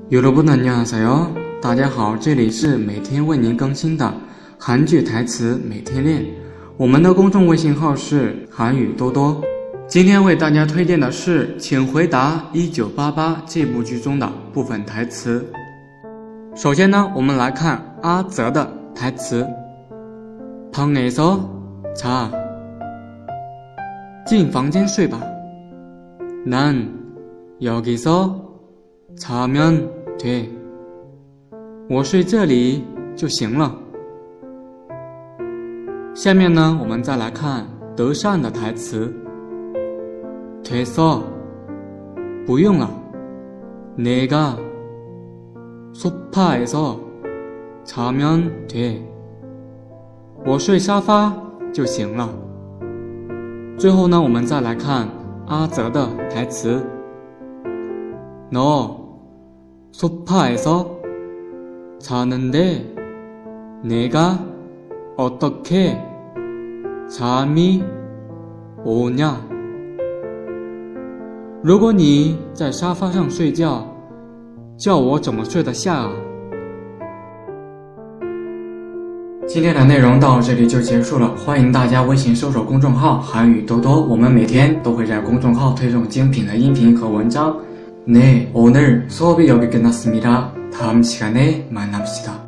여러분 안녕하세요，大家好，这里是每天为您更新的韩剧台词每天练。我们的公众微信号是韩语多多。今天为大家推荐的是《请回答1988》这部剧中的部分台词。首先呢，我们来看阿泽的台词。방에서 자， 进房间睡吧。난 여기서 자면 돼， 我睡这里就行了。下面呢，我们再来看德善的台词。됐어， 不用了。내가 소파에서 자면 돼， 我睡沙发就行了。最后呢，我们再来看阿泽的台词。너 소파에서 자는데 내가 어떻게 잠이 오냐？ 如果你在沙发上睡觉，叫我怎么睡得下啊？今天的内容到这里就结束了，欢迎大家微信搜索公众号韩语多多，我们每天都会在公众号推送精品的音频和文章。네, 오늘 수업이 여기 끝났습니다. 다음 시간에 만납시다.